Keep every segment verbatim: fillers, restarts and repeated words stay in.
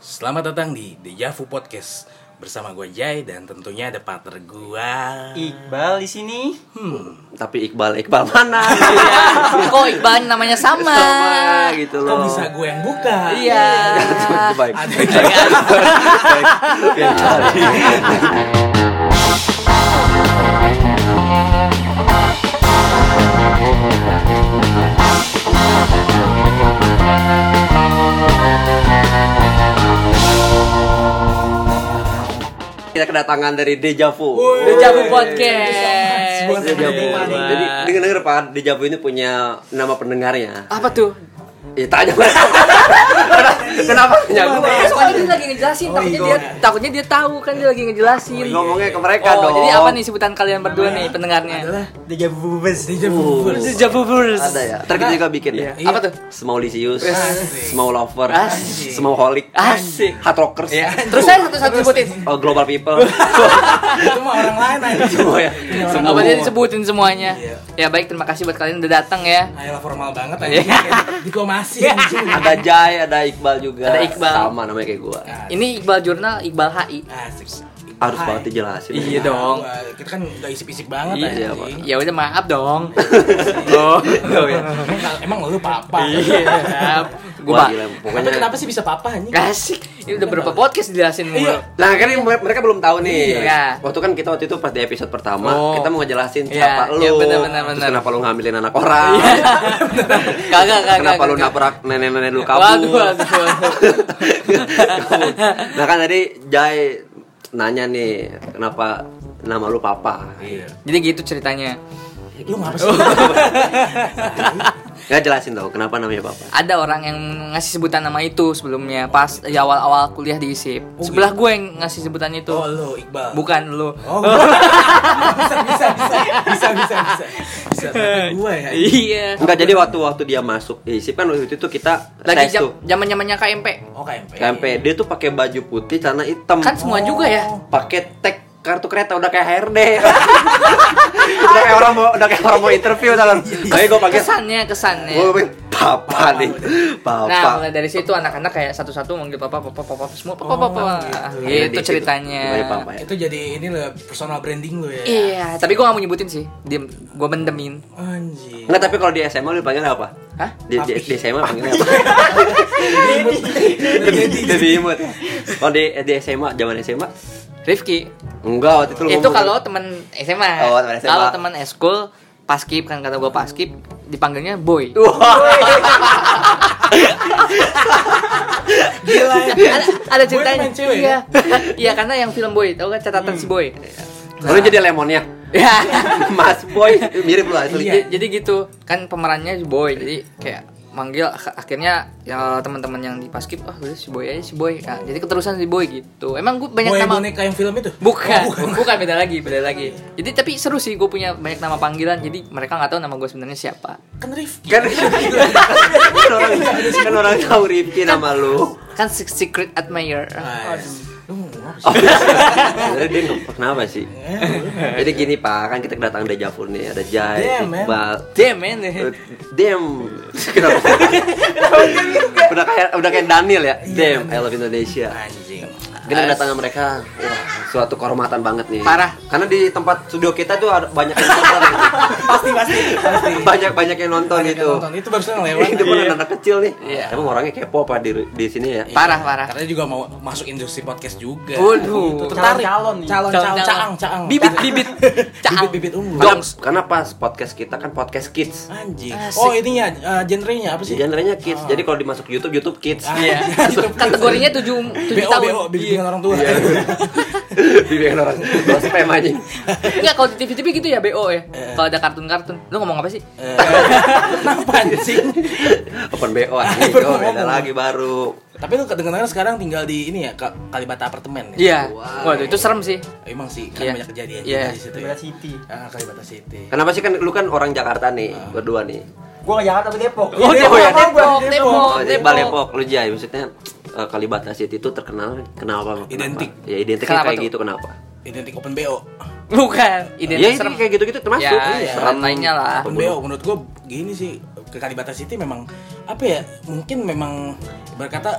Selamat datang di Deja Vu Podcast bersama gue Jai dan tentunya ada partner gue Iqbal di sini. Hmm, tapi Iqbal Iqbal mana? Iya. Kok Iqbal namanya sama? Sama gitu loh. Kok bisa gue yang buka? Iya. Baik. Ada Yang cari. Kita kedatangan dari Deja Vu. Deja Vu Podcast. Deja Vu. Jadi dengar-dengar Pak, Deja Vu ini punya nama pendengarnya. Apa tuh? Ya tanya gue. Kenapa tanya gue? Soalnya dia lagi ngejelasin, takutnya dia takutnya dia tahu kan dia lagi ngejelasin. Ngomongnya ke mereka Oh, dong. jadi apa nih sebutan kalian berdua nih pendengarnya? adalah Deja Vu Bus. Deja Vu. Deja Vu Verse. Ada ya. Ntar kita juga bikin ya. Apa tuh? Smallicious, Asik. Small Lover, Asik. Small Holic, Asik. Hard Rockers, Terus saya satu-satu sebutin. oh, Global People. Itu mah orang lain aja. Semua ya. Apa dia disebutin semuanya? Iya. Ya baik, terima kasih buat kalian udah datang ya. Ayolah formal banget aja. Iya. Diplomasi. Ada Jai, ada Iqbal juga. Ada Iqbal. Sama namanya kayak gua. Ini Iqbal Jurnal, Iqbal H I. Asik. Harus Hai. banget dijelasin. Iya dong. Wah, kita kan udah isip-isip banget Iya, aja. Pak. Ya udah maaf dong. Oh, oh ya. Emang, emang lu papa? Iya. Gue Wah, pak. gila. Tapi Pokoknya kenapa sih bisa papa anjing? Asik. Ini udah berapa podcast dijelasin mulu. Iya. Nah, kan ini mereka belum tahu nih. Iya. Waktu kan kita waktu itu pas di episode pertama, Oh. kita mau ngejelasin Iya, siapa lu. iya, benar, benar, Terus benar. kenapa lu ngambilin anak orang? Kagak, kagak. Kenapa lu kagak. nabrak nenek-nenek lu kabur? Waduh, waduh, waduh. Nah kan tadi Jai nanya nih, kenapa nama lu Papa? Iya. Jadi gitu ceritanya. Lu ngapa sih? Gak jelasin tau kenapa namanya Papa. Ada orang yang ngasih sebutan nama itu sebelumnya pas di awal-awal kuliah di I S I P. Oh, Sebelah gue yang ngasih sebutan itu. Oh, lu Iqbal. Bukan lu. Oh, bisa, bisa, bisa, bisa, bisa, bisa, bisa. Tapi gue ya. Iya. Enggak, jadi waktu waktu dia masuk I S I P kan waktu itu kita Lagi tes jam, tuh. zaman-zamannya K M P. Oh, K M P. K M P dia tuh pakai baju putih, celana hitam. Kan semua juga ya. Pakai tag kartu kereta udah kayak H R D. Udah kayak orang mau udah kayak orang mau interview kan. Kayak gue pakai Kesannya, kesannya. gue pakai Papa nih. Nah, Papa. mulai dari situ anak-anak kayak satu-satu manggil papa, papa, papa, semua papa, Oh, papa. gitu. Iya, Gitu di situ. ceritanya. Namanya Papa ya. Itu jadi ini loh personal branding lu ya. Iya, tapi gue gak mau nyebutin sih. Diem, gue mendemin. Anjing. Enggak, tapi kalau di S M A lu dipanggil apa? Hah? Di, di, di S M A panggilnya apa? Jadi Jadi imut. Kalau di di S M A, zaman S M A? Rifki. Enggak, waktu itu lu Itu ngomong- kalau teman S M A. Oh, teman S M A. Kalau teman eskul, paskib kan kata gue paskib, dipanggilnya boy. Wah. gila ya. ada, ada ceritanya. Boy main cewek Iya. Iya, karena yang film boy, tahu kan catatan si boy. Lalu jadi lemonnya. Ya. Mas Boy mirip lu asli. Iya. Jadi gitu, kan pemerannya si boy. Jadi kayak manggil ak- akhirnya ya teman-teman yang di paskib, ah udah si boy aja si boy. Nah, jadi keterusan si boy gitu. Emang gue banyak Boy nama. boneka yang film itu? Bukan, Oh, bukan. bukan beda lagi, beda lagi. Jadi tapi seru sih, gue punya banyak nama panggilan. Jadi mereka nggak tahu nama gue sebenarnya siapa. Kan Rifki. Kan kan orang kan orang tahu Rifki nama lu. Kan se- secret admirer. Nice. Lu ngapa sih? Oh, sebenarnya dia nggak kenapa sih? Jadi gini Pak, kan kita kedatangan Deja Vu nih, ada Jai, Damn, man. Iqbal. Damn man. Eh, Damn. Kenapa? udah kayak udah kayak Daniel ya. Damn, I love Indonesia. Anjing. Kita kedatangan mereka, wah, suatu kehormatan banget nih. Parah. Karena di tempat studio kita tuh ada banyak yang nonton. Pasti, pasti, pasti. banyak banyak yang nonton Banyak gitu. yang nonton. Itu barusan lewat. Itu pun anak kecil nih. Iya. Emang orangnya kepo apa di di sini ya? Parah, parah. Karena juga mau masuk industri podcast juga. Waduh. Gitu, tertarik. Calon-calon nih. Calon, calon, caang, caang. Bibit, bibit. Caang. Bibit, bibit unggul. Karena, karena pas podcast kita kan podcast kids. Anjing. Asik. Oh, ininya uh, genrenya apa sih? Genrenya kids. Jadi kalau dimasuk YouTube, YouTube kids. Ah. Iya. Kategorinya tujuh tujuh B O, tahun. B O, bimbingan orang tua. Bibian orang tua spam aja. Enggak, kalau di T V T V gitu ya B O ya. Kalau ada kartun-kartun. Lu ngomong apa sih? Eh, Kenapa anjing? Open B O aja. Baru Oh, beda ngomong. lagi baru. Tapi lu kedengaran sekarang tinggal di ini ya, Ka- Kalibata apartemen ya? Iya. Wow. Waduh, itu serem sih. Emang sih, kan Iya. banyak kejadian Iya. juga di situ ya. Kalibata City. Ah, Kalibata City. Kenapa sih kan lu kan orang Jakarta nih, berdua nih. Gua ke Jakarta ke Depok. Oh, Depok, ya, Depok, Depok. Depok, Oh, Iqbal Depok. Depok, lu Jai, maksudnya uh, Kalibata City itu terkenal kenapa? Kenapa? Identik. Ya identik Kenapa kayak tuh? gitu kenapa? Identik open B O. Bukan, Ya identik ini serem. kayak gitu-gitu termasuk. Ya, iya. serem lainnya lah. Open B O menurut gua gini sih, ke Kalibata City memang apa ya? Mungkin memang berkata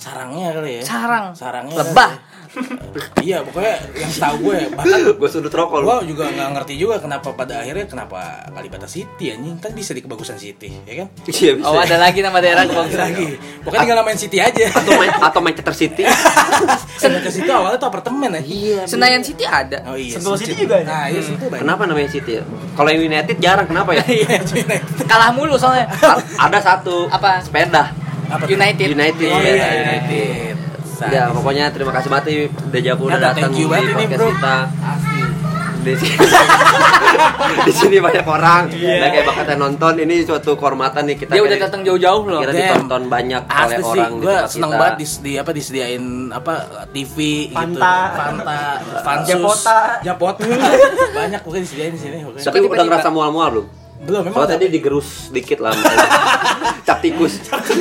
sarangnya kali ya. Sarang. Sarangnya. Lebah. kali. Iya, pokoknya yang setahu gue bahkan Gue sudut rokok lu. gue juga nggak ngerti juga kenapa pada akhirnya kenapa Kalibata City anjing, kan bisa di kebagusan City, ya kan? Iya bisa. Oh, ada lagi nama daerah Ada kebagusan. lagi. Pokoknya tinggal namain City aja. Atau main atau Manchester City. Manchester City awalnya tuh apartemen aja. Iya. Senayan City ada. Oh iya. Sentul City juga ada. Nah, iya Sentul banyak. Kenapa namanya City ya? Kalau yang United jarang, kenapa ya? Iya, United. Kalah mulu soalnya. A- ada satu. Apa? Sepeda. Apa tuh? United. United. Oh sepeda, iya, United. United. Ya, pokoknya terima kasih banget nih Dejavu udah Ya, datang thank you di banget ini, podcast bro. kita. Asli. Di sini, di sini banyak orang. Iya. Dan kayak bakatnya nonton, ini suatu kehormatan nih kita. Dia udah kayak- datang jauh-jauh loh. Kita Damn. ditonton banyak oleh Asli sih, orang di gue tempat seneng kita. banget dis, di apa disediain apa T V Fanta. gitu, Fanta, Fansus, Japota. Japota, banyak pokoknya disediain di sini. Pokoknya. Tapi Tiba-tiba- udah ngerasa mual-mual belum? Belum, memang Soalnya tadi digerus dikit lah. Cap tikus.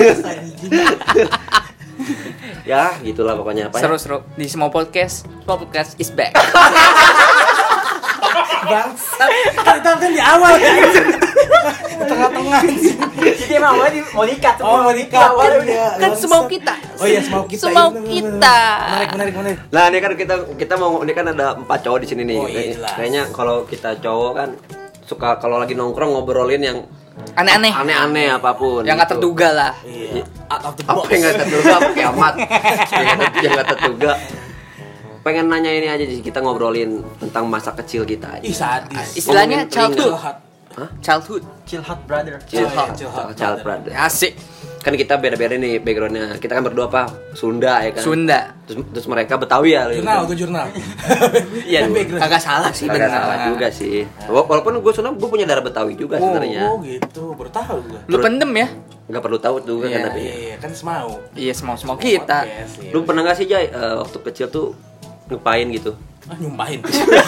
Ya, gitulah pokoknya apa ya. Seru-seru di semua podcast. Semua podcast is back. bangsat. Kan itu kan di awal kan. Di tengah-tengah sih. Jadi emang awalnya di- mau nikah Oh, mau nikah. Awalnya udah. Iya, Kan bangsat. semau kita. Oh iya, semau kita. Semau Iya, bener, bener, kita. bener. Menarik, menarik, menarik. Nah, ini kan kita kita mau ini kan ada empat cowok di sini nih. Oh, iya, Kayak- jelas. Kayaknya kalau kita cowok kan suka kalau lagi nongkrong ngobrolin yang Aneh-aneh. aneh-aneh apapun. Yang nggak gitu. terduga lah. Iya. Out of the Apa box. yang nggak terduga? Apa kiamat? Yang nggak terduga. Pengen nanya ini aja sih, kita ngobrolin tentang masa kecil kita aja. Ih, sadis. Istilahnya Ngomongin childhood. Curhat. Childhood. Chill hot brother. Chill Chill hot, hot, chill hot, child brother. brother. Asik. Kan kita beda-beda nih backgroundnya. Kita kan berdua apa? Sunda ya kan. Sunda. Terus, terus mereka Betawi ya. Jurnal, gue jurnal. Iya, Background. kagak salah sih Agak benar. salah juga sih. Wa- Walaupun gue Sunda, gue punya darah Betawi juga sebenarnya. Oh gitu, baru tahu gue. Lu pendem ya? Nggak perlu tahu juga Iya, kan tapi. Iya, kan semau. Iya, semau-semau kita. Podcast, iya. Lu pernah nggak sih Jay eh, waktu kecil tuh ngapain gitu? Ah, nyumpahin.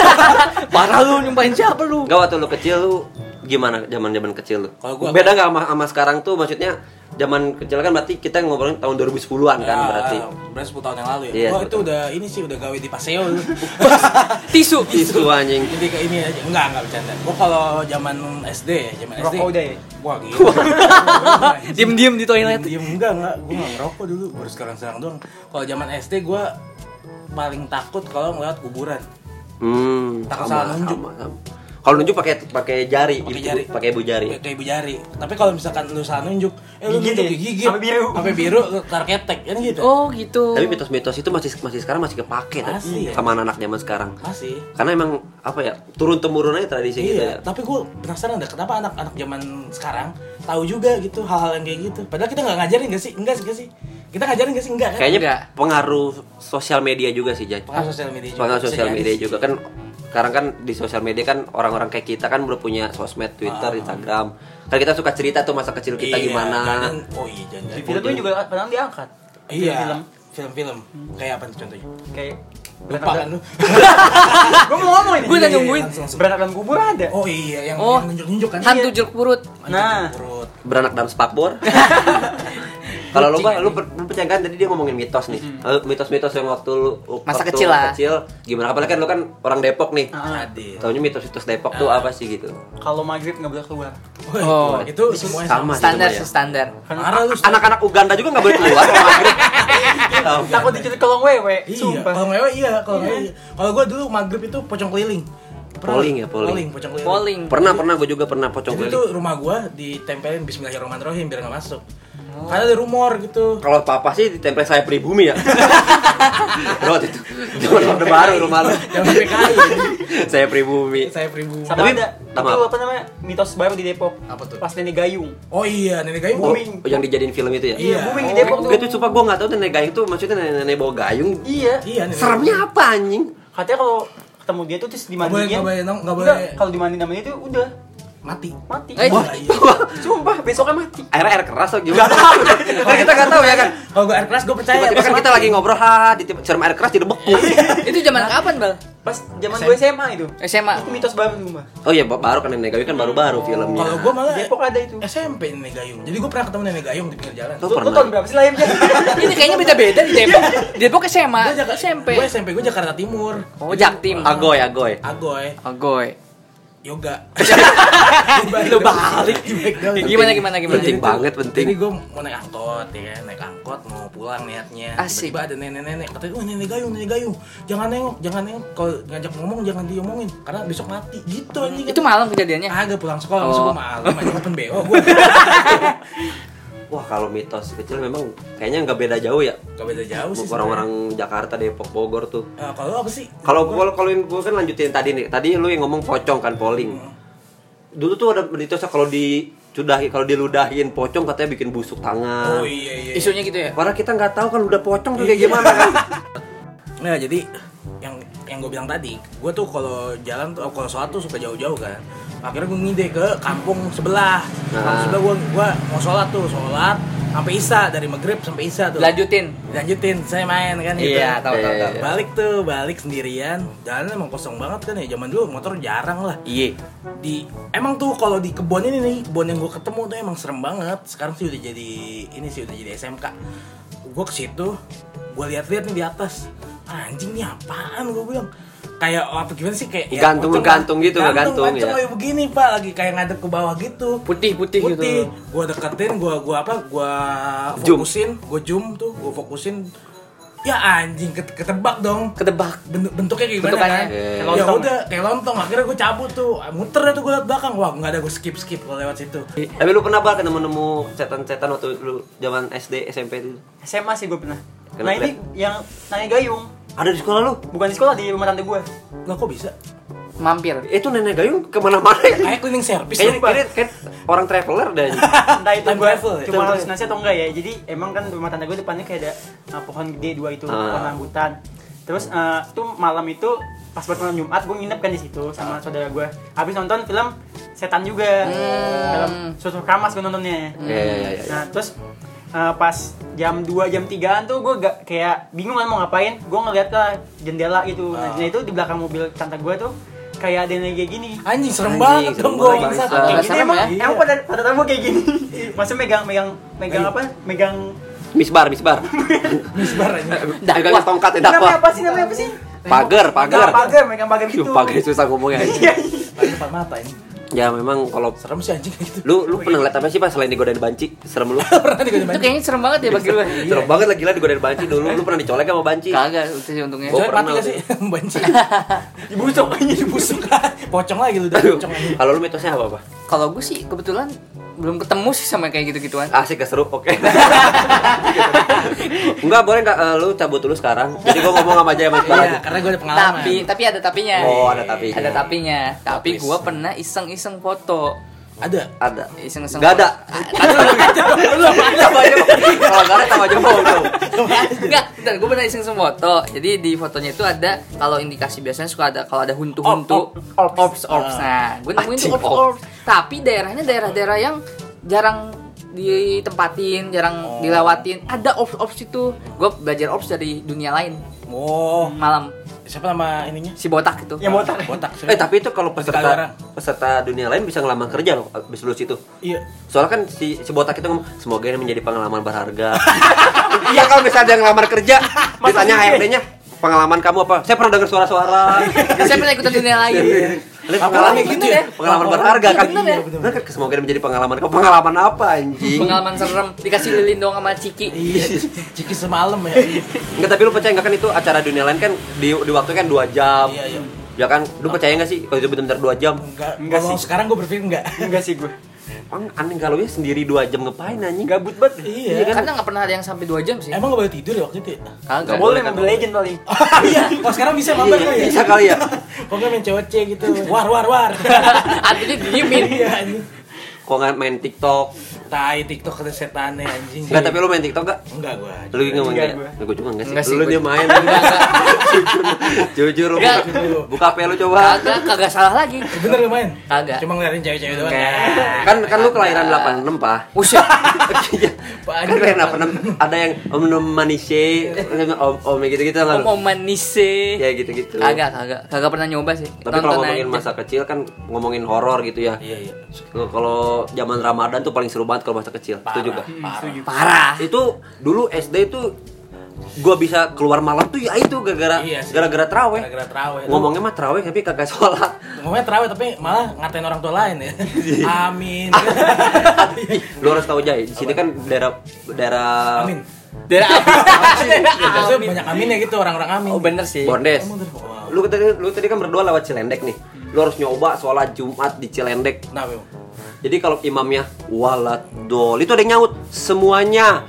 Parah lu nyumpahin siapa lu? Enggak, waktu lu kecil lu gimana zaman-zaman kecil lu? Kalau gua- Beda nggak sama, sama sekarang tuh, maksudnya zaman kecil kan berarti kita ngobrolin tahun dua ribu sepuluhan kan Ya, berarti. berarti sepuluh tahun yang lalu ya. Iya, Gua sepuluh itu udah ini sih udah gawe di Paseo dulu. Tisu. Itu anjing. Jadi ke ini aja. Enggak, enggak bercanda. Gua kalau zaman S D ya, zaman S D. Rokok udah ya? Wah, gila. Diem-diem di toilet. Diem enggak, enggak. Gua enggak ngerokok dulu, baru sekarang-sekarang doang. Kalau zaman S D gua paling takut kalau ngeliat kuburan. Hmm, Takut sama, salah nunjuk. sama, sama. Kalau nunjuk pakai pakai jari, Pakai ibu- jari. pakai ibu jari. Kayak ibu jari. Tapi kalau misalkan lu salah nunjuk, eh lu Gigit nunjuk ya? gigit. Sampai biru. Sampai biru, lu tar ketek, kan gitu. Oh, gitu. Tapi mitos-mitos itu masih masih sekarang masih kepake tapi Masih, ya. sama anak-anak zaman sekarang. Masih. Karena emang apa ya, turun temurun aja tradisi gitu ya. Iya, tapi gue penasaran deh kenapa anak-anak zaman sekarang tahu juga gitu hal-hal yang kayak gitu. Padahal kita nggak ngajarin gak sih? Enggak sih, enggak sih. Kita ngajarin gak sih? Enggak kan? Kayaknya Enggak. pengaruh sosial media juga sih, Jay. pengaruh sosial media juga. Pengaruh Bisa sosial jadi media sih. juga kan. Sekarang kan di sosial media kan orang-orang kayak kita kan udah punya sosmed, Twitter, Ah. Instagram. Kan kita suka cerita tuh masa kecil kita Iya, gimana. kadang- oh iya, jangan. Di filmnya juga kadang diangkat. Iya, Film. film-film. Kayak apa nih contohnya? Kayak Lupa kan lu? Gue mau ngomong ini. Gue udah Iya, iya, nungguin. langsung, langsung. Beranak dalam kubur ada. Oh iya, yang Oh. yang nunjuk-nunjuk kan? Hantu Iya. jeruk purut. Nah. Perut. Beranak dalam spakbor. Kalau lu Bang, lu, per- lu percaya kan tadi dia ngomongin mitos nih. Lalu mitos-mitos yang waktu lu Masa waktu kecil lah. kecil gimana? Apalagi kan lu kan orang Depok nih. Ah. Adil. Taunya mitos-mitos Depok tuh apa sih gitu? Kalau maghrib nggak boleh keluar. Oh, Oh. itu semuanya Sama sama. sih. Standar semua ya. sih standar. Marah lu. Anak-anak Uganda juga nggak boleh keluar kalau maghrib. Tahu. Takut diculik kolong wewe. Iya, Sumpah. kalau ngewe iya, kalau ngewe iya. Kalau gua dulu maghrib itu pocong keliling. Pernah? Polling ya, polling. Polling, pocong keliling. Polling. Pernah pernah gue juga pernah pocong Jadi keliling. tuh rumah gua ditempelin Bismillahirrahmanirrahim biar nggak masuk. Karena ada rumor gitu. Kalau papa sih ditempel saya pribumi ya. Bro itu zaman orde baru rumah lu. Jangan P K I. Saya pribumi. Saya pribumi. Sama Tapi- ada. sama Itu apa? apa namanya? Mitos baru di Depok. Apa tuh? Pas nenek gayung. Oh iya, nenek gayung Oh, booming. yang dijadiin film itu ya? Iya, booming di Oh, Depok tuh. Gue tuh sumpah gue gak tau nenek gayung tuh maksudnya nenek-nenek bawa gayung. Iya. Iya, nenek. Seremnya apa anjing? Katanya kalau ketemu dia tuh terus Nggak boleh, dimandiin. nggak boleh, nggak Enggak, boleh. kalau dimandiin namanya itu udah Mati. mati. Eh, Wah, iya. Sumpah, besoknya mati. Air air keras atau gimana? Kan kita gak tahu ya kan. Kalau gua air keras gua percaya. Tiba-tiba kan Pas kita mati. lagi ngobrol, ha, di siram air keras didebeku. Itu zaman kapan, Bal? Pas zaman gue S M A itu. S M A. Itu mitos baru tuh, Mbak. Oh iya, baru kan nenek gayung kan baru-baru filmnya. Kalau gua malah Depok ada itu. S M P nenek gayung. Jadi gua pernah ketemu nenek gayung di pinggir jalan. Lu Lu, lu pernah? tahun berapa sih lahirnya? Ini kayaknya beda-beda di Depok. Di Depok S M A, Gua Jakarta S M P. Gua S M P gua Jakarta Timur. Oh, Jaktim. Agoy, agoy. Agoy. Agoy. yoga. Lu balik. Gimana gimana gimana? Penting banget, penting. Jadi gue mau naik angkot ya kan, naik angkot mau pulang niatnya. Asik. Tiba-tiba ada nenek-nenek katanya, "Oh, nenek gayung, nenek gayung. Jangan nengok, jangan nengok. Kalau ngajak ngomong jangan diomongin karena besok mati." Gitu anjing. Itu malam kejadiannya. Agak pulang sekolah, Oh. masuk gue malam aja open B O gue. Wah, kalau mitos kecil memang kayaknya nggak beda jauh ya. Gak beda jauh sih. Orang-orang Jakarta, Depok, Bogor tuh. sebenarnya. Nah, kalau lu apa sih? Kalau kalau kalau gue kan lanjutin tadi nih. Tadi lu yang ngomong pocong kan polling. Dulu tuh ada mitosnya kalau di sudahi kalau diludahin pocong katanya bikin busuk tangan. Oh iya iya. Isunya gitu ya. Padahal kita nggak tahu kan udah pocong tuh kayak gimana kan. Nah, jadi yang yang gue bilang tadi, gue tuh kalau jalan tuh kalau sholat tuh suka jauh-jauh kan. Akhirnya gue ngide ke kampung sebelah. Kampung Nah. sebelah gue gue mau sholat tuh, sholat sampai isya, dari maghrib sampai isya tuh. Lanjutin. Lanjutin, saya main kan gitu. Iya, tahu tahu tahu. Iya. Balik tuh, balik sendirian. Jalan emang kosong banget kan ya. Zaman dulu motor jarang lah. Iya. Di emang tuh kalau di kebun ini nih, kebun yang gue ketemu tuh emang serem banget. Sekarang sih udah jadi ini sih udah jadi S M K. Gue ke situ, gue lihat-lihat nih di atas. Anjing nih apaan gue bilang. Kayak apa gimana sih kayak Gantung- pocong gantung lah. gitu, nggak gantung, gantung ya? kayak begini Pak, lagi kayak ngadep ke bawah gitu. Putih-putih gitu. Putih. Gue deketin, gue gua apa? Gue Zoom. fokusin, gue zoom tuh, gue fokusin. Ya anjing ket- ketebak dong. Ketebak. Bentuk bentuknya kayak gimana Bentukannya. kan? Kayak Ya lontong. udah kayak lontong. Akhirnya gue cabut tuh, muter dah tuh gue liat belakang. Wah nggak ada, gue skip skip kalau lewat situ. Tapi lu pernah bakal nemu-nemu setan-setan waktu lu zaman S D, S M P itu? S M A sih gue pernah. Kenapa? Nah ini yang nenek gayung. Ada di sekolah lu? Bukan di sekolah, di rumah tante gue. Lah kok bisa? Mampir. Itu nenek gayung kemana-mana ya? Kayak cleaning service Kayaknya lupa. kayaknya kayak orang traveler deh. Entah itu Time gue travel ya? cuma Betul, halusinasi atau enggak ya. Jadi emang kan rumah tante gue depannya kayak ada uh, pohon gede dua itu, Ah. pohon rambutan. Terus uh, tuh malam itu pas buat malam Jumat gue nginep kan di situ sama saudara gue. Habis nonton film setan juga. Film Susu Kamas gue nontonnya. Iya iya iya. Nah terus uh, pas jam dua jam tigaan tuh gue gak kayak bingung kan mau ngapain. Gue ngeliat ke jendela gitu. Nah itu di belakang mobil tante gue tuh kayak ada yang kayak gini. Anjing serem Anjing, banget serem dong gue banget. bangsat. Ah, Kayak gini serem emang, ya? emang pada pada tamu kayak gini. Maksudnya megang megang megang apa? Megang Misbar, misbar. Misbar aja. Dakwah tongkat ya namanya dakwah. apa sih namanya apa sih? Pagar, pagar. Nah, pagar, megang pagar gitu. Duh, pagar susah ngomongnya. Iya. Lagi depan mata ini. Ya memang kalau Serem sih anjing kayak gitu. lu lu pernah ngeliat apa sih pas selain digodain banci? Serem lu. Pernah digodain Itu kayaknya serem banget ya bagi lu. Serem banget lah gila digodain banci dulu. Lu pernah dicolek sama banci? Kagak itu sih untungnya. Gua Coba pernah mati gak lagi. sih? Banci. Dibusuk aja. Dibusuk. Pocong lagi lu udah Aduh, pocong aja. kalau lu mitosnya apa apa? Kalau gue sih kebetulan belum ketemu sih sama kayak gitu-gituan. Asik gak seru? Oke. Enggak, boleh enggak eh, lu cabut dulu sekarang. Jadi gua ngomong sama aja sama Iqbal Iya, aja. karena gue ada pengalaman. Tapi tapi ada tapinya. Oh, ada tapinya. Ada tapinya. Tapi Tapis. gue pernah iseng-iseng foto. Ada. Ada. Iseng-iseng. Enggak ada. Belum ada. Sama aja. Kalau enggak ada sama aja bohong dong. Enggak, bentar, gue pernah iseng foto. Jadi di fotonya itu ada kalau indikasi biasanya suka ada kalau ada huntu-huntu, Orb, orb, orbs, orbs. Nah, gue nemuin tuh Anjing, orbs, orbs. Tapi daerahnya daerah-daerah yang jarang ditempatin, jarang dilewatin. Ada orbs, orbs itu. Gue belajar orbs dari dunia lain. Oh, Malam siapa nama ininya? si botak itu. Yang botak. Botak. Eh tapi itu kalau Sekarang. peserta peserta dunia lain bisa ngelamar kerja loh abis lulus itu. Iya. Soalnya kan si, si botak itu ngomong semoga ini menjadi pengalaman berharga. Iya kalau misalnya ada yang ngelamar kerja, ditanya H R D-nya pengalaman kamu apa? Saya pernah dengar suara-suara. Saya pernah ikutan dunia lain. Lihat Apa pengalaman lagi gitu gitu ya, ya? pengalaman Apa berharga lagi? kan. Bener ya? Bener kan semoga ini menjadi pengalaman kamu. Pengalaman apa anjing? Pengalaman serem dikasih lilin dong sama Ciki. Iya. Ciki semalam ya. Enggak, tapi lu percaya enggak kan itu acara dunia lain kan di di waktu kan dua jam. Iya, iya. Ya kan, lu percaya enggak sih kalau itu benar-benar dua jam? Enggak. Enggak Kalau sih. sekarang gue berpikir enggak. Enggak sih gue. Bang, aneh kalau ya sendiri dua jam ngapain anjing? Gabut banget. Iya. Karena nggak pernah ada yang sampai dua jam sih. Emang gak boleh tidur ya waktu itu ya? Kagak. Gak boleh Mobile Legend paling. Iya. Kalau sekarang bisa mabar kali ya? Bisa kali ya. Kok nggak main C O C gitu? War war war. Artinya diemin. Iya anjing. Kok nggak main TikTok? Tai TikTok ada setannya anjing. Enggak, tapi lu main TikTok enggak? Enggak gua. Lu nggak main Enggak, enggak? gua. Gue juga enggak sih. Enggak sih, Lu gua dia juga. main. Jujur, jujur lu Enggak. buka, buka H P lu coba. Kagak, kagak salah lagi. Bener lu main? Kagak. Cuma ngeliatin cewek-cewek doang. Enggak. Kan kan lu kelahiran delapan puluh enam, Pak. Usia. Kan kelahiran delapan puluh enam ada yang Om Nom Manise, Om Om gitu-gitu enggak lu? Mau manise. Ya gitu-gitu. Kagak, kagak. Kagak pernah nyoba sih. Tapi kalau Tonton ngomongin aja. masa kecil kan ngomongin horor gitu ya. Iya iya. Kalau zaman Ramadan tuh paling seru banget kalau masa kecil. Itu juga. Parah. Parah. Itu dulu S D itu gua bisa keluar malam tuh ya itu gara-gara Iya sih. gara-gara traweh. Gara-gara traweh. Ngomongnya mah traweh tapi kagak sholat. Ngomongnya terawih tapi malah ngatain orang tua lain ya. Amin. Lu harus tahu Jay, di sini kan daerah daerah Amin. Daerah apa? Biasanya banyak amin ya gitu, orang-orang amin. Oh bener sih. Bondes. Emang bener? Wow. Lu tadi lu tadi kan berdua lewat Cilendek nih. Lu harus nyoba sholat Jumat di Cilendek. Nah, Bim. Jadi kalau imamnya waladol itu ada yang nyaut semuanya.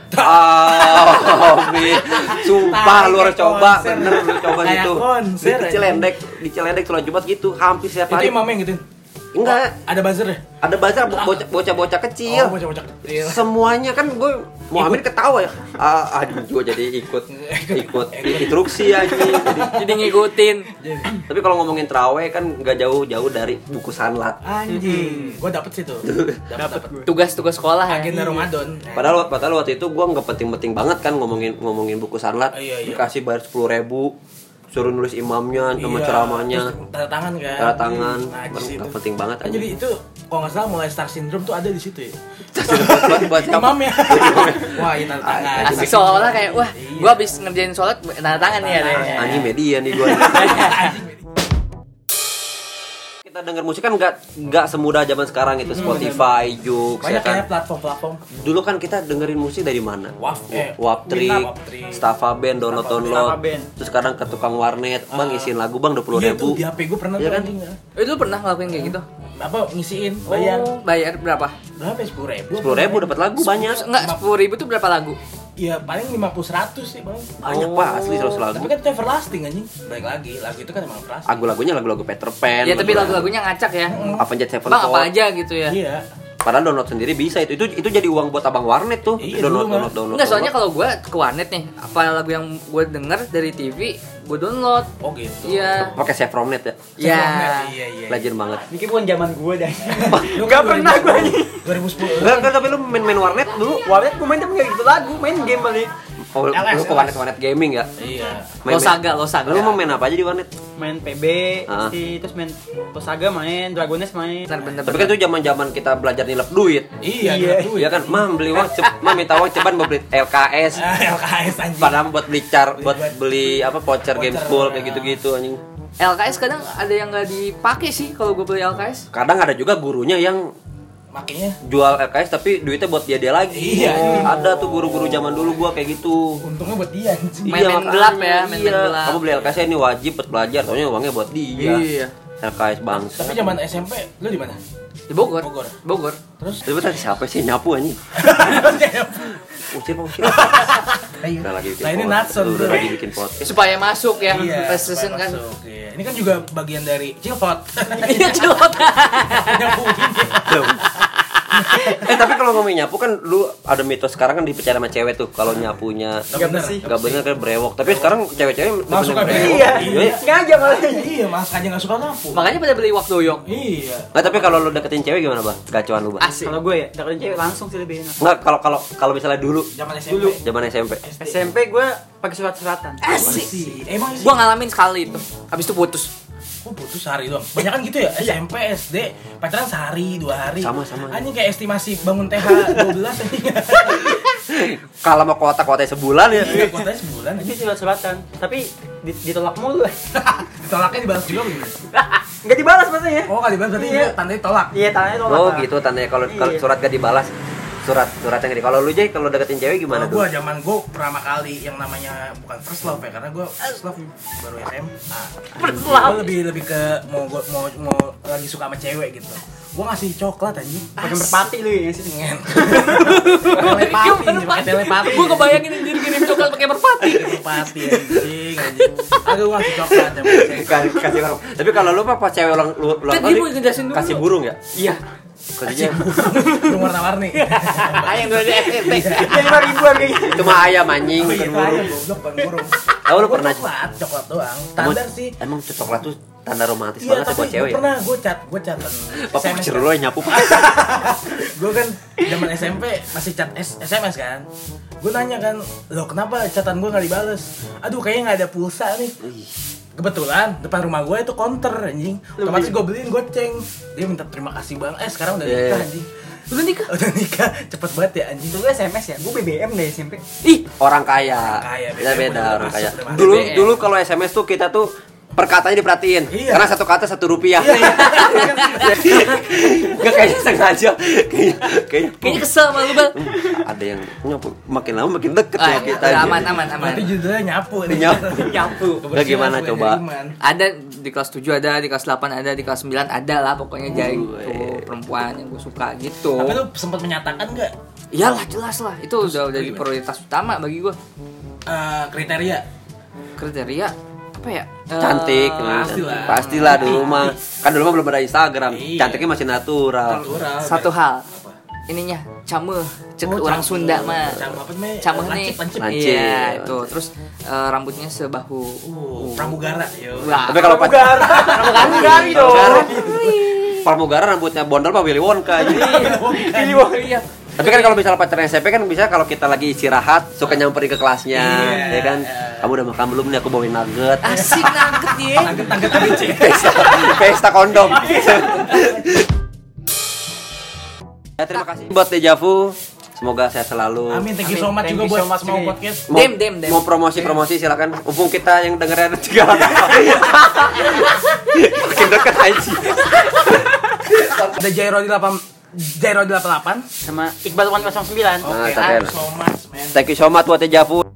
Amin. Sumpah lu harus Kayak coba, konser. bener lu coba Kayak gitu. konser, Di Cilendek, di Cilendek sholat Jumat gitu hampir setiap Itu hari. imamnya yang gituin. Enggak, Ada buzzer ya? ada bazar bocah- bocah-bocah kecil. Oh, bocah-bocah kecil. Semuanya kan gue Muhammad ketawa ya. Ah, aduh gue jadi ikut ikut instruksi aja. Jadi, Jadi ngikutin. tapi kalau ngomongin traweh kan nggak jauh-jauh dari buku sanlat. Anjing. Gua dapet sih tuh. Dapet dapet. Tugas-tugas sekolah ya. Agenda Ramadan. Padahal padahal waktu itu gue nggak penting-penting banget kan ngomongin ngomongin buku sanlat. Iya, iya. Dikasih bayar sepuluh ribu, suruh nulis imamnya sama Iya. ceramahnya, Terus tanda tangan kan. tanda tangan. Najis itu. Nggak penting banget. Kan jadi itu kalau nggak salah mulai star syndrome tuh ada di situ ya. buat buat kamu. Imamnya. Wah, ini tanda tangan. Asik seolah kayak wah, gua habis ngerjain sholat tanda tangan nih ada. Anjing media nih gue. Kita denger musik kan nggak nggak semudah zaman sekarang itu Spotify, Joox, ya Banyak kan. ya platform-platform. Dulu kan kita dengerin musik dari mana? Waf, eh, Waptrik, Waptrik. Staffa Band, download Staffa download. Band. Terus kadang ke tukang warnet, bang isiin lagu bang dua puluh Iya tuh ribu. di H P gue pernah Iya tuh kan? anjing. Eh, lu pernah ngelakuin kayak gitu? Apa ngisiin bayar Oh, bayar berapa? berapa? Sepuluh ribu. Sepuluh ribu dapat lagu banyak. Enggak, sepuluh ribu tuh berapa lagu? Iya paling lima puluh seratus sih bang. Banyak pak asli seratus lagu. Tapi kan itu everlasting anjing. Baik lagi, lagu itu kan emang everlasting. Lagu-lagunya lagu-lagu Peter Pan. Ya tapi lagu-lagunya ngacak ya. Avenged Sevenfold. Bang apa aja gitu ya. Iya. Padahal download sendiri bisa itu. Itu itu jadi uang buat abang warnet tuh. Iya, download, dulu download, mah. download, Enggak, soalnya download. kalau gua ke warnet nih, apa lagu yang gua denger dari T V, gua download. Oh gitu. Iya. pakai Chevrolet ya. Ya. Iya iya. Legend banget. Ini bukan zaman gue dah. Lu Gak kan pernah gue ini. dua ribu sepuluh. Enggak, enggak tapi lu main-main warnet dulu. Warnet gue main tapi gak gitu lagu, main game balik. Oh, lu L S, ke warnet-warnet gaming ya? Iya. Losaga, Losaga. Lu mau main apa aja di warnet? Main P B, Ah. pasti, terus main Losaga main, Dragones main. Bener bener. Tapi kan itu zaman-zaman kita belajar nilep duit. Iya. Iya. duit. Iya kan, mam beli uang, cep, mam minta uang ceban buat beli L K S. Ah, L K S anjing. Padahal buat beli car, buat beli apa voucher Voucher, Gamespool ya. kayak gitu-gitu anjing. L K S kadang ada yang nggak dipakai sih kalau gue beli L K S. Kadang ada juga gurunya yang Makanya jual L K S tapi duitnya buat dia dia lagi. Iya. Ada tuh guru-guru zaman dulu gua kayak gitu. untungnya buat dia anjing. Main-main makanya, gelap ya, main-main iya. gelap. Kamu beli L K S ini wajib buat belajar, taunya uangnya buat dia. Iya. L K S bangsa. Tapi zaman S M P lu di mana? Di Bogor. Bogor. Bogor. Terus Tapi tadi siapa sih nyapu anjing? Ucil Pak Ucil. Ayo. Udah lagi bikin Nah, ini podcast. Natson, Udah bro. lagi bikin podcast. Supaya masuk ya. Iya. Precision supaya kan. masuk, iya. Ini kan juga bagian dari Cilpot. Iya, celot. Eh tapi kalau ngomongin nyapu kan lu ada mitos sekarang kan dipercaya sama cewek tuh kalau nyapunya Gak bener sih. nggak bener kan brewok. Tapi sekarang cewek-cewek Masuk bener aja. brewok. Iya, Iya. sengaja malah. Iya, mas aja nggak suka nyapu. Makanya pada beli waktu doyok. Iya. Nggak, tapi kalau lu deketin cewek gimana bang? Gacuan lu bang? Asik. Kalau gue ya, deketin cewek langsung sih lebih enak. Nggak, kalau kalau kalau misalnya dulu Zaman S M P. Dulu. zaman S M P. S M P gue pakai surat-suratan. Asik. Sih. Emang sih. Gua ngalamin sekali itu. Habis itu putus. Kok putus sehari doang? Banyak kan gitu ya? S M P, S D, pacaran sehari, dua hari. Sama-sama. Anjing kayak estimasi bangun T H dua belas anjing. Kalau mau kuota-kuota sebulan ya. Iya, kuotanya sebulan Itu anjing. surat-suratan, tapi di- ditolak mulu. Ditolaknya dibalas juga begini. Enggak dibalas maksudnya. Oh, kali dibalas berarti Iya. itu tandanya tolak. Iya, tangannya tolak. Oh gitu tandanya kalau kalau Iya. surat gak dibalas. Surat surat yang gede. Kalau lu Jay kalau deketin cewek gimana Kalau tuh? gua zaman gua pertama kali yang namanya bukan first love ya, karena gua first love baru S M A. First Gua love. lebih lebih ke mau gua mau mau lagi suka sama cewek gitu. Gua ngasih coklat anjing. Pakai merpati lu ya sih. Ngen. Telepati, pakai telepati. Gua kebayangin anjir kirim coklat pakai merpati. Telepati anjing anjing. Aku gua ngasih coklat sama cewek. Kasih kasih orang. Tapi kalau lu apa pas cewek ulang lu- ulang Kan tahun dia nih, mau ngejelasin dulu. kasih burung ya? Iya. Kasihnya Burung warna-warni. Ayang dulu di S M P. Jadi lima ribuan kayak gitu. itu mah ayam anjing Oh bukan iya, burung. ayam, goblok bukan burung. Oh, lu Gua pernah- coklat, coklat doang. Emang, Standar sih. emang coklat tuh tanda romantis Iya, banget ya tapi buat gue cewek ya? pernah, gue chat, gue chatan Pak S M S pacar kan. lu yang nyapu Pak. Gue kan zaman S M P masih chat S- SMS kan. Gue nanya kan, loh kenapa chatan gue gak dibales? Aduh kayaknya gak ada pulsa nih. Kebetulan depan rumah gue itu counter anjing. Otomatis gue beliin goceng. Dia minta terima kasih bang. Eh sekarang udah Iya, nikah iya. anjing. Udah nikah? Udah nikah, cepet banget ya anjing. Itu gue S M S ya, gue B B M deh S M P. Ih, Orang kaya. Kaya, Beda beda udah orang masuk, kaya. udah masuk. Dulu B B M. dulu kalau S M S tuh kita tuh perkataannya diperhatiin. Iya. Karena satu kata satu rupiah. Enggak kayaknya sengaja. Kayaknya kayaknya kayaknya kesel sama lu, Bal. ada yang nyapu makin lama makin deket Ah, sama kita. udah aja. aman, aman, aman. Berarti judulnya nyapu nih. Nyapu. Nyapu. Udah gimana Kebersihan, coba? Iman. Ada di kelas tujuh ada, di kelas delapan ada, di kelas sembilan ada lah pokoknya jadi Gue. tuh perempuan yang gue suka gitu. Tapi lu sempat menyatakan nggak Iyalah jelas lah, itu udah udah jadi gimana? prioritas utama bagi gue. eh, kriteria? Kriteria apa ya? Eh, Cantik, pastilah. pastilah dulu mah. Kan dulu mah belum ada Instagram. Iya. Cantiknya masih natural. Natural. Satu hal, Apa? ininya cameh, cek Oh, orang cameh. Sunda mah. Cameh apa namanya? Cameh nih. Lancip, lancip. Lancip. Iya, itu. Terus eh, rambutnya sebahu. Uh, pramugara, yo. Wah. Tapi kalau pas Pramugari dong. Pramugara rambutnya bondol mah Willy Wonka aja. Pilih wah iya. Tapi kan kalau misalnya pacaran S M P kan bisa kalau kita lagi istirahat suka nyamperin ke kelasnya, Iya. ya kan? Kamu udah makan belum nih? Aku bawain nugget. Asik nugget ya. Tangget-tangget A B C. Pesta, pesta kondom. Ya, terima kasih buat Dejavu. Semoga sehat selalu. Amin, thank you so Amin. much Thank juga you buat so much semua juga. podcast. Mau, Dem, dem, dem. mau promosi-promosi silakan. Mumpung kita yang dengerin juga. Makin deket aja. Ada Jairo di delapan Jairo di delapan puluh delapan. Sama Iqbal seratus sembilan. Oke, Nah, thank you so much, man. Thank you so much buat Dejavu.